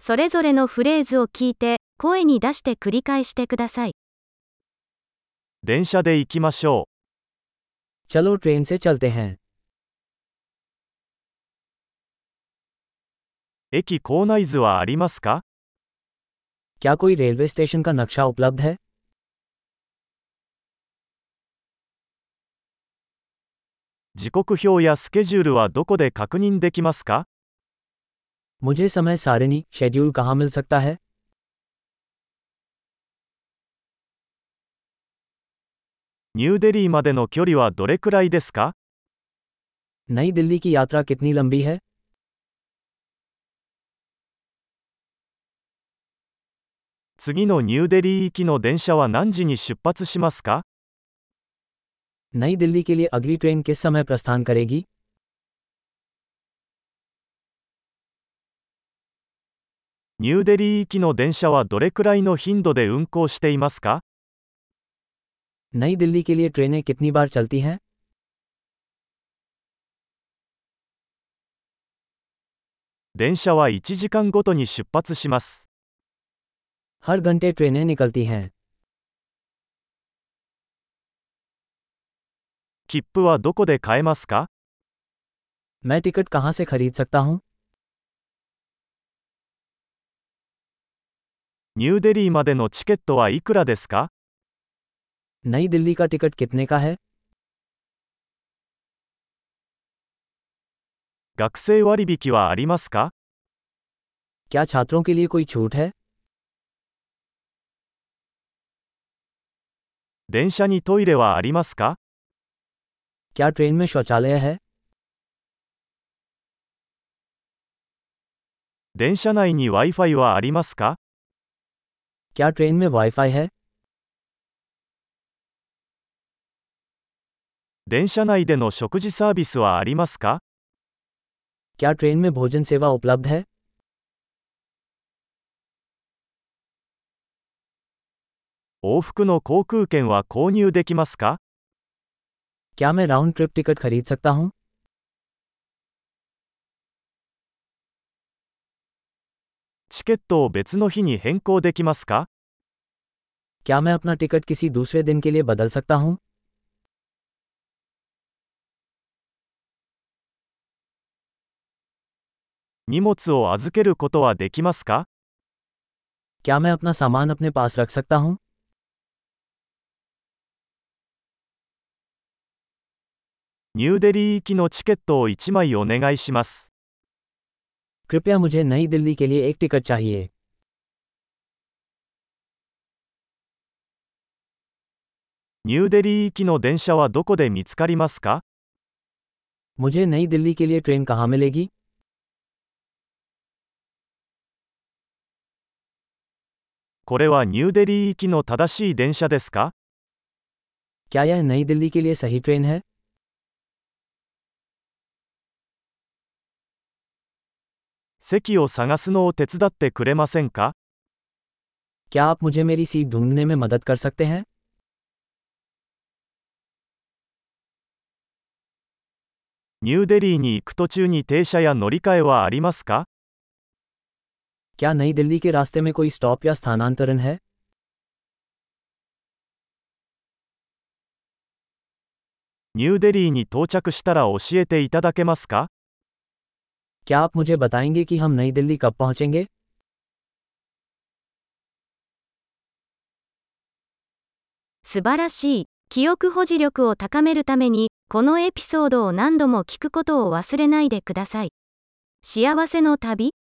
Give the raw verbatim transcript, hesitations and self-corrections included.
それぞれのフレーズを聞いて、声に出して繰り返してください。 電車で行きましょ चलो ट्रेन से चलते हैं। う。駅構内図はありますか？ क्या कोई रेलवे स्टेशन का नक्शा उपलब्ध है? 時刻表やスケジュールはどこで確認できますか？ मुझे समय सारिणी शेड्यूल कहाँ मिल सकता है? ニューデリーまでの距離はどれくらいですか？ नई दिल्ली की यात्रा कितनी लंबी है? 次のニューデリー行きの電車は何時に出発しますか？ नई दिल्ली के लिए अगली ट्रेन किस समय प्रस्थान करेगी? ニューデリー行きの電車はどれくらいの頻度で運行していますか？ नई दिल्ली के लिए ट्रेनें कितनी बार चलती हैं? 電車はいちじかんごとに出発します。 हर घंटे ट्रेनें निकलती हैं। 切符はどこで買えますか？ मैं टिकट कहाँ से खरीद सकता हूँ? ニューデリーまでのチケットはいくらですか？ नई दिल्ली का टिकट कितने का है? 学生割引はありますか？ क्या छात्रों के लिए कोई छूट है? 電車にトイレはありますか？ क्या ट्रेन में शौचालय है? 電車内に Wi-Fi はありますか？ क्या ट्रेन में वाईफाई है? 電車内での食事サービスはありますか？ क्या ट्रेन में भोजन सेवा उपलब्ध है? 往復の航空券は購入できますか？ क्या मैं राउंड ट्रिप टिकट खरीद सकता हूँ? チケットを別の日に変更できますか？ क्या मैं अपना टिकट किसी दूसरे दिन के लिए बदल सकता हूँ? 荷物を預けることはできますか？ क्या मैं अपना सामान अपने पास रख सकता हूँ? ニューデリー行きのチケットをいちまいお願いします。 कृपया मुझे नई दिल्ली के लिए एक टिकट चाहिए। ニューデリー行きの電車はどこで見つかりますか？ मुझे नई दिल्ली के लिए ट्रेन कहाँ मिलेगी? これはニューデリー行きの正しい電車ですか？ क्या यह नई दिल्ली के लिए सही ट्रेन है? 席を探すのを手伝ってくれませんか？ क्या आप मुझे मेरी सीट ढूंढने में मदद कर सकते हैं? ニューデリーに行く途中に停車や乗り換えはありますか？ क्या नई दिल्ली के रास्ते में कोई स्टॉप या स्थानांतरण है? ニューデリーに到着したら教えていただけますか？ क्या आप मुझे बताएंगे कि हम नई दिल्ली कब पहुंचेंगे? 素晴らしい。記憶保持力を高めるために、このエピソードを何度も聞くことを忘れないでください。幸せの旅